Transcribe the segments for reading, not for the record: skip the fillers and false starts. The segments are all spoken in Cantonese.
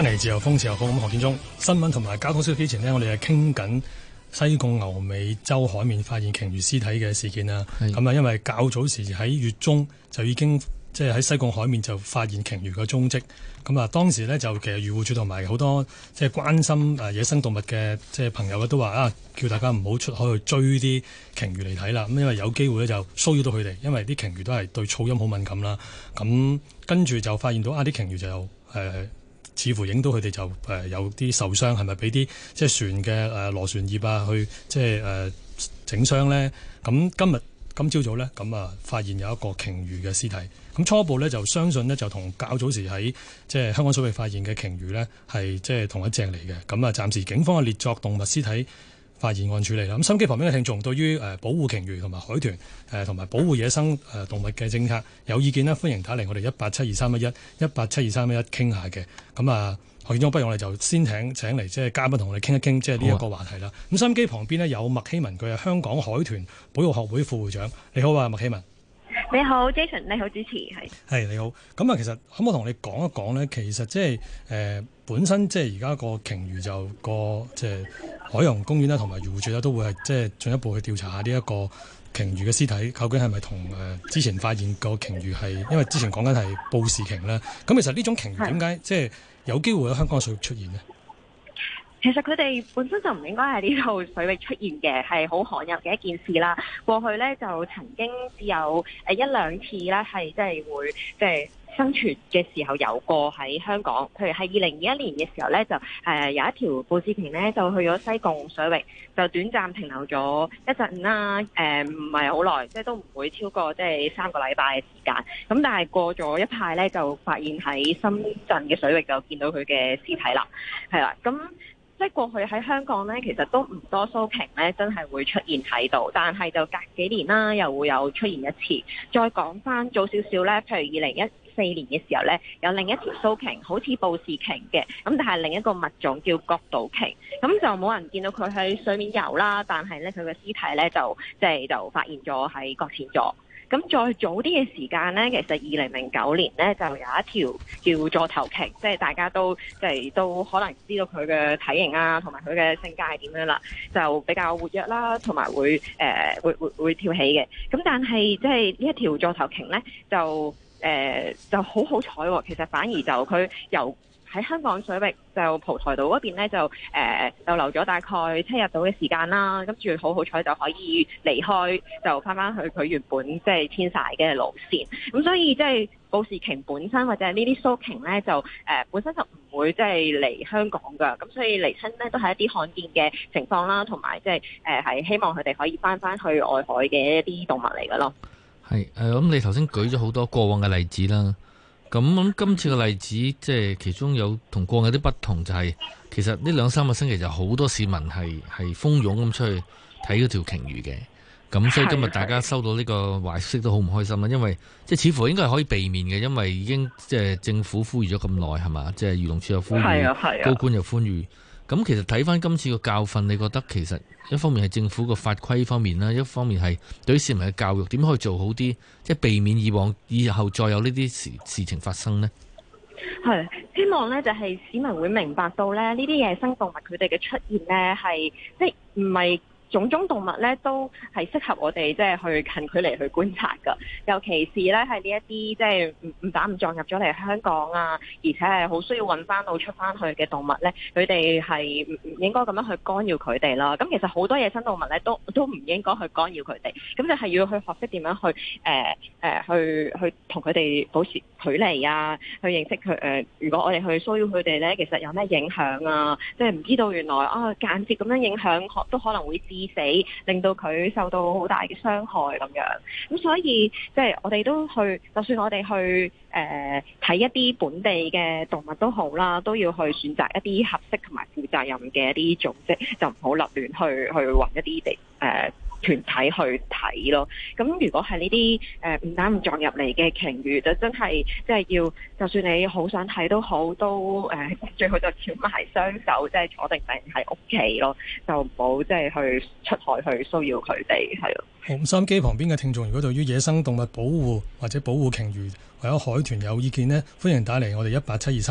翻嚟自由風，咁何建中新聞同埋交通消息之前呢，我哋係傾緊西貢牛尾洲海面發現鯨魚屍體嘅事件啦。咁啊，因為較早時喺月中就已經即係喺西貢海面就發現鯨魚嘅蹤跡。咁啊，當時呢，就其實漁護署同埋好多即係關心野生動物嘅即係朋友都話叫大家唔好出海去追啲鯨魚嚟睇啦。咁因為有機會咧就騷擾到佢哋，因為啲鯨魚都係對噪音好敏感啦。咁跟住就發現到啲鯨魚就似乎影到佢哋就有啲受傷，係咪俾啲即係船嘅螺旋葉去即係整傷呢？咁今朝早呢，咁發現有一個鯨魚嘅屍體。咁初步呢，就相信呢，就同較早時喺即係香港水域發現嘅鯨魚呢，係即係同一隻嚟嘅。咁暫時警方嘅列作動物屍體發現案處理啦。咁收音機旁邊嘅聽眾對於保護鯨魚同埋海豚同埋保護野生動物嘅政策有意見呢，歡迎打嚟我哋187231187231傾下嘅。咁何建中，不如我哋就先請嚟即係嘉賓同我哋傾一傾即係呢一個話題啦。咁收音機旁邊呢，有麥希文，佢係香港海豚保育學會副會長。你好麥希文。 你好 Jason， 你好主持。 係你好。咁其實可唔可以同你講一講呢？其實即係本身即係而家個鯨魚就個即係海洋公園啦，同埋漁護署都會係即係進一步去調查下呢一個鯨魚嘅屍體，究竟係咪同之前發現個鯨魚係，因為之前講緊係布氏鯨咧。咁其實呢種鯨魚點解即係有機會喺香港水域出現呢？ 其實佢哋本身就唔應該喺呢度水域出現嘅，係好罕有嘅一件事啦。過去咧就曾經只有一兩次咧係即係會即係生存嘅時候有過喺香港，譬如係2021年嘅時候咧，就有一條布氏鯨咧就去咗西貢水域，就短暫停留咗一陣啦，唔係好耐，即係都唔會超過即係3個禮拜嘅時間。咁但係過咗一排咧，就發現喺深圳嘅水域就見到佢嘅屍體啦，係啦，咁。即係過去喺香港咧，其實都唔多鬚鯨咧，真係會出現喺度。但係就隔幾年啦，又會有出現一次。再講翻早少少咧，譬如2014年嘅時候咧，有另一條鬚鯨，好似布氏鯨嘅，咁但係另一個物種叫角島鯨，咁就冇人見到佢喺水面游啦。但係咧，佢嘅屍體咧就發現咗喺擱淺咗。咁再早啲嘅時間呢，其實2009年呢就有一條叫座頭鯨，即係大家都都可能知道佢嘅體型啊，同埋佢嘅性格係點樣啦，就比較活躍啦，同埋會跳起嘅。咁但係即係呢一條座頭鯨呢，就好好彩喎，其實反而就佢由喺香港水域就蒲台島嗰邊咧就逗留咗大概7日到嘅時間啦，跟住好彩就可以離開，就翻去佢原本即係遷徙嘅路線。咁所以即係布氏鯨本身或者呢啲鬚鯨咧就本身就唔會即係嚟香港㗎，咁所以嚟親咧都係一啲罕見嘅情況啦，同埋即係係希望佢哋可以翻去外海嘅一啲動物嚟㗎咯。 係咁你頭先舉咗好多過往嘅例子啦。咁今次嘅例子，即係其中有同過往有啲不同，就係其實呢2-3個星期就好多市民係蜂擁咁出去睇嗰條鯨魚嘅。咁所以今日大家收到呢個壞消息都好唔開心啦，因為即係似乎應該係可以避免嘅，因為已經即係政府呼籲咗咁耐係嘛，即係漁農署又呼籲，高官又呼籲。咁其實睇翻今次個教訓，你覺得其實一方面係政府個法規方面啦，一方面係對於市民嘅教育，點可以做好啲，即係避免以後再有呢啲事情發生呢？ 係希望咧，就係市民會明白到咧，呢啲野生動物佢哋嘅出現咧，係即係唔係種種動物咧都係適合我哋即係去近距離去觀察㗎，尤其是咧係呢一啲即係誤打誤撞入咗嚟香港啊，而且係好需要揾翻到出翻去嘅動物咧，佢哋係唔應該咁樣去干擾佢哋啦。咁其實好多野生動物咧都唔應該去干擾佢哋，咁就係要去學識點樣去同佢哋保持距離啊，去認識佢如果我哋去騷擾佢哋咧，其實有咩影響啊？即係唔知道原來間接咁樣影響都可能會死，令到佢受到好大嘅傷害咁樣。咁所以即係我哋都去，就算我哋去睇一啲本地嘅動物都好啦，都要去選擇一啲合適同埋負責任嘅一啲組織，就唔好立亂去揾一啲團體去睇咯。咁如果係呢啲誤打誤撞入嚟嘅鯨魚，就真係即係要，就算你好想睇都好，都最好就翹埋雙手，即係坐定定喺屋企咯，就唔好即係去出海去騷擾佢哋，係咯。 收音機旁邊嘅聽眾，如果對於野生動物保護或者保護鯨魚或者海豚有意見呢，歡迎打嚟我哋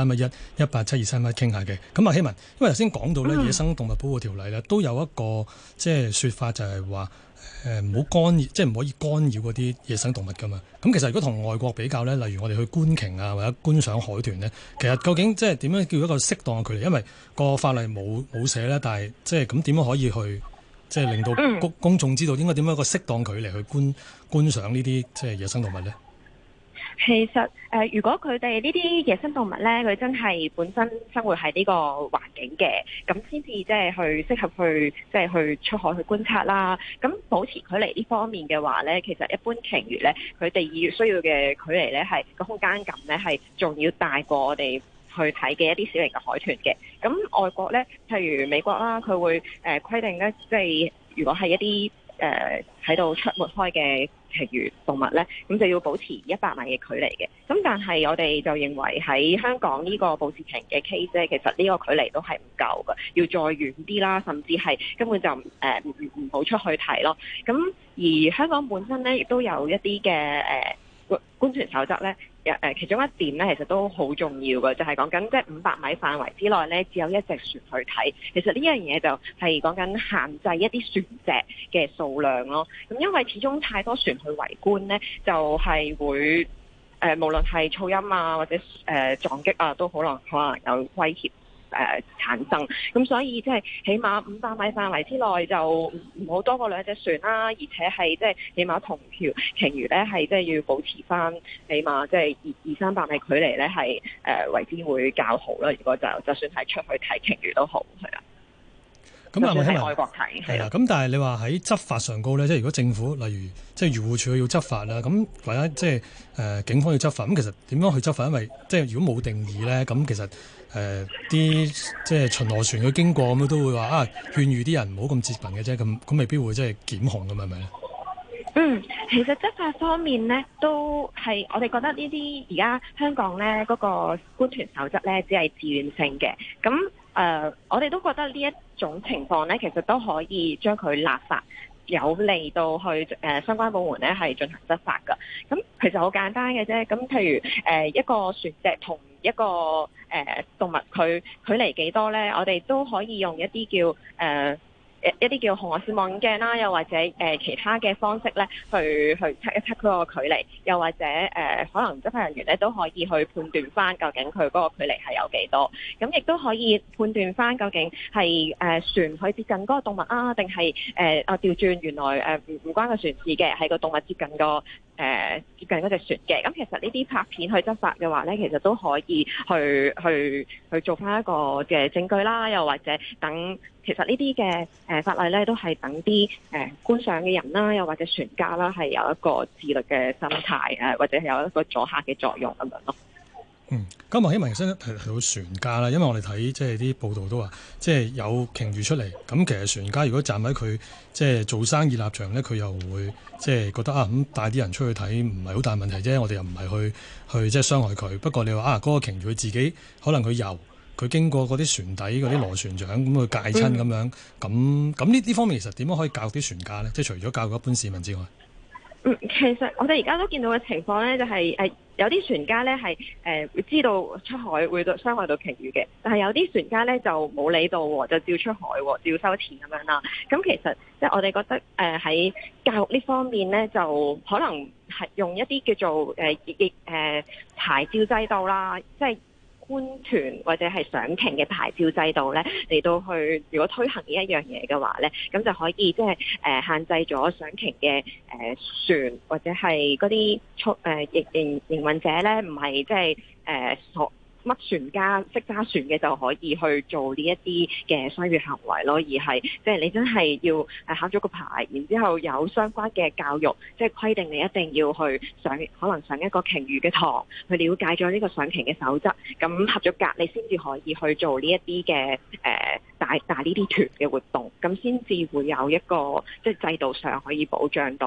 1872311傾下嘅。咁啊，希文，因為頭先講到咧野生動物保護條例咧，都有一個即係説法就係話唔好干擾，即係唔可以干擾嗰啲野生動物噶嘛。咁其實如果同外國比較咧，例如我哋去觀鯨啊或者觀賞海豚咧，其實究竟即係點樣叫一個適當嘅距離？因為個法例冇寫咧，但係即係咁點樣可以去即係令到公眾知道應該點樣一個適當距離去觀賞呢啲即係野生動物咧？ 其實如果佢哋呢啲野生動物咧，佢真係本身生活喺呢個環境嘅，咁先至即係去適合去即係去出海去觀察啦。咁保持距離呢方面嘅話咧，其實一般鯨魚咧，佢哋需要嘅距離咧係個空間感咧係仲要大過我哋去睇嘅一啲小型嘅海豚嘅。咁外國咧，譬如美國啦，佢會規定咧，即係如果係一啲喺度出沒開嘅鯨魚動物咧，咁就要保持100米嘅距離嘅。咁但係我哋就認為喺香港呢個布氏鯨嘅 case 咧，其實呢個距離都係唔夠嘅，要再遠啲啦，甚至係根本就唔好出去睇咯。咁而香港本身咧，亦都有一啲嘅觀豚守則咧。其中一點咧，其實都好重要嘅，就係講緊即係500米範圍之內咧，只有一隻船去睇。其實呢樣嘢就係講緊限制一啲船隻嘅數量咯。咁因為始終太多船去圍觀咧，就係會無論係噪音啊，或者撞擊啊，都可能有威脅。產生咁，所以即係起碼500米範圍之內就唔好多過2隻船啦，而且係即係起碼同條鯨魚咧係即係要保持翻起碼即係200-300米距離咧係為之會較好啦。如果就算係出去睇鯨魚都好，係啊。咁啊，喺外國睇係啦。 咁但係你話喺執法上高咧，即係如果政府例如即係漁護署要執法啦，咁或者即係警方要執法，咁其實點樣去執法？因為即係如果冇定義咧，咁其實啲即係巡邏船佢經過咁都會話勸喻啲人唔好咁接近嘅啫，咁未必會即係檢控㗎嘛，係咪咧？ 其實執法方面咧，都係我哋覺得呢啲而家香港咧嗰個觀豚守則咧，只係自願性嘅。咁我哋都覺得呢一種情況咧，其實都可以將佢立法，有利到去相關部門咧係進行執法㗎。咁其實好簡單嘅啫。咁譬如一個船隻同一個動物佢距離幾多咧，我哋都可以用一啲叫紅外線望遠鏡啦，又或者其他嘅方式咧，去測一測嗰個距離，又或者可能執法人員咧都可以去判斷翻究竟佢嗰個距離係有幾多，咁亦都可以判斷翻究竟係船去接近嗰個動物啊，定係調轉原來唔關個船事嘅，係個動物接近嗰隻船嘅。咁其實呢啲拍片去執法嘅話咧，其實都可以去做翻一個嘅證據啦，又或者等。其實呢啲嘅法例咧，都係等啲觀賞嘅人啦，又或者船家啦，係有一個自律嘅心態或者有一個阻嚇嘅作用咁樣咯。 咁麥希文先提到船家啦，因為我哋睇即係啲報道都話，即係有鯨魚出嚟，咁其實船家如果站喺佢即係做生意立場咧，佢又會即係覺得咁帶啲人出去睇唔係好大問題啫，我哋又唔係去即係傷害佢。不過你話嗰個鯨魚佢自己可能佢游。佢經過嗰啲船底嗰啲螺旋槳咁佢戒親咁樣，咁呢方面其實點樣可以教啲船家咧？即係除咗教一般市民之外， 其實我哋而家都見到嘅情況咧，就係有啲船家咧係會知道出海會傷害到鯨魚嘅，但係有啲船家咧就冇理到喎，就照出海喎，照收錢咁樣啦。咁其實即係我哋覺得喺教育呢方面咧，就可能係用一啲叫做牌照制度啦，即係。觀豚或者係賞鯨嘅牌照制度咧，嚟到去如果推行呢一樣嘢嘅話咧，咁就可以即係限制咗賞鯨嘅船或者係嗰啲營運者咧，唔係即係乜船家識揸船嘅就可以去做呢一啲嘅商業行為咯，而係即係你真係要考咗個牌，然之後有相關嘅教育，即係規定你一定要去可能上一個鯨魚嘅堂，去了解咗呢個賞鯨嘅守則，咁合咗格你先至可以去做呢一啲嘅帶呢啲團嘅活動，咁先至會有一個即係制度上可以保障到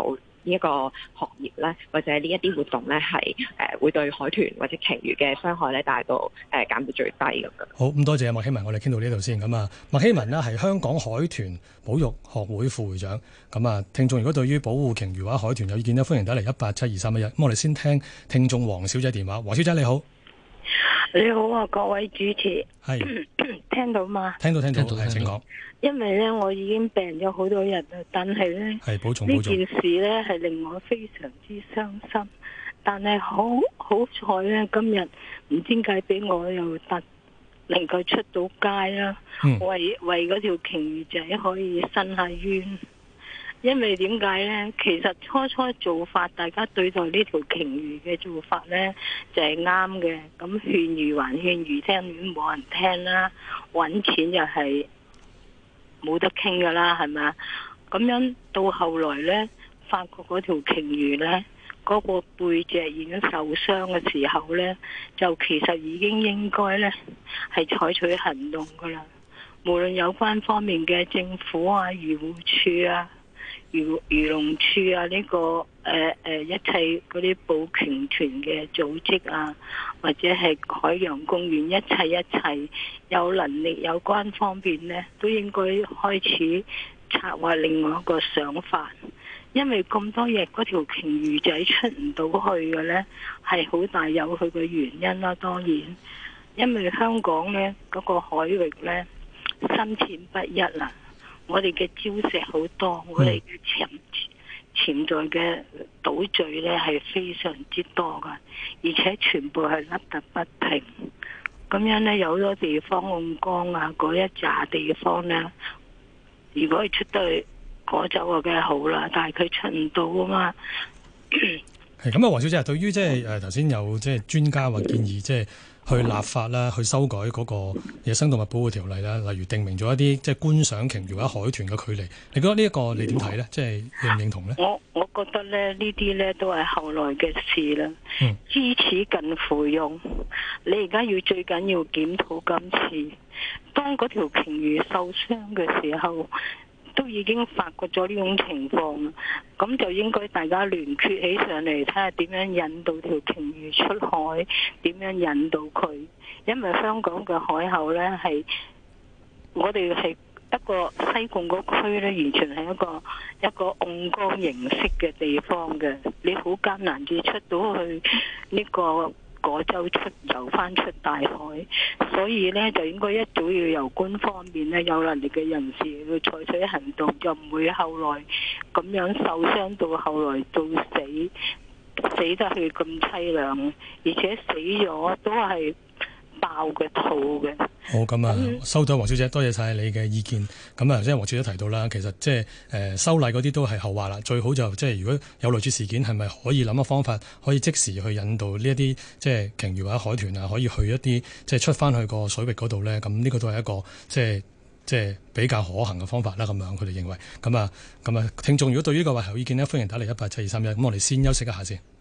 呢一個行業咧，或者呢一啲活動咧係會對海豚或者鯨魚嘅傷害咧帶到減到最低咁樣。 好，咁多謝麥希文，我哋傾到呢度先。咁啊，麥希文呢係香港海豚保育學會副會長。咁啊，聽眾如果對於保護鯨魚或者海豚有意見呢，歡迎打嚟1872311。咁我哋先聽聽眾黃小姐電話。黃小姐你好。 你好啊，各位主持， 係聽到嗎？ 聽到，係請講。 因為咧，我已經病咗好多日啦，但係咧， 係保重。 呢件事咧係令我非常之傷心。但係好彩咧，今日唔知點解俾我又能夠出到街啦，為嗰條鯨魚仔可以伸下冤。因為點解呢？其實初做法，大家對待呢條鯨魚嘅做法呢，就係啱嘅。咁勸喻還勸喻，聽冇人聽啦。揾錢就係冇得傾噶啦，係咪？咁樣到後來呢，發覺嗰條鯨魚呢，嗰個背脊已經受傷嘅時候呢，就其實已經應該呢係採取行動噶啦。無論有關方面嘅政府啊、漁護署啊、漁農處啊，呢個一切嗰啲保鯨團嘅組織啊，或者係海洋公園，一切有能力有關方面呢，都應該開始策劃另外一個想法。因為咁多日嗰條鯨魚仔出唔到去嘅呢，係好大有佢嘅原因啦。當然，因為香港呢嗰個海域呢，深淺不一啦。我哋嘅礁石好多，我哋嘅潛在嘅島嶼呢係非常之多噶，而且全部係凹凸不平。咁樣呢，有好多地方岸江啊，嗰一紮地方呢，如果佢出到去嗰走就梗係好啦，但係佢出唔到啊嘛。 係咁啊，黃小姐，對於即係頭先有即係專家話建議即係去立法啦，去修改嗰個野生動物保護條例啦，例如定明咗一啲即係觀賞鯨魚或者海豚嘅距離。你覺得呢一個你點睇呢？即係認唔認同呢？ 我覺得咧呢啲咧都係後來嘅事啦。知恥近乎勇。你而家最緊要檢討今次，當嗰條鯨魚受傷嘅時候，都已經發覺咗呢種情況，咁就應該大家聯結起上嚟，睇下點樣引導條鯨魚出海，點樣引導佢。因為香港嘅海口呢，係我哋係一個西貢嗰區呢，完全係一個岸江形式嘅地方嘅，你好艱難至出到去呢個果洲游翻出大海，所以呢，就應該一早要由官方面呢，有能力嘅人士去採取行動，就唔會後來咁樣受傷到後來到死得去咁淒涼，而且死咗都係爆嘅肚嘅。 好，咁啊，收到黃小姐，多謝晒你嘅意見。咁啊，頭先黃小姐提到啦，其實即係修例嗰啲都係後話啦。最好就即係如果有類似事件，係咪可以諗個方法，可以即時去引導呢一啲即係鯨魚或者海豚啊，可以去一啲即係出翻去個水域嗰度咧？咁呢個都係一個即係比較可行嘅方法啦。咁樣佢哋認為。咁啊，聽眾如果對於呢個話有意見呢，歡迎打嚟1872311。咁我哋先休息一下先。